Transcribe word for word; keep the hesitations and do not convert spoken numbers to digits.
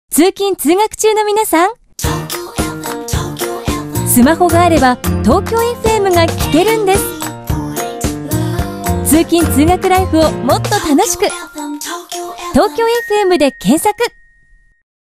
通勤通学中の皆さん、スマホがあれば東京 エフエム が聞けるんです。通勤通学ライフをもっと楽しく、東京 エフエム で検索。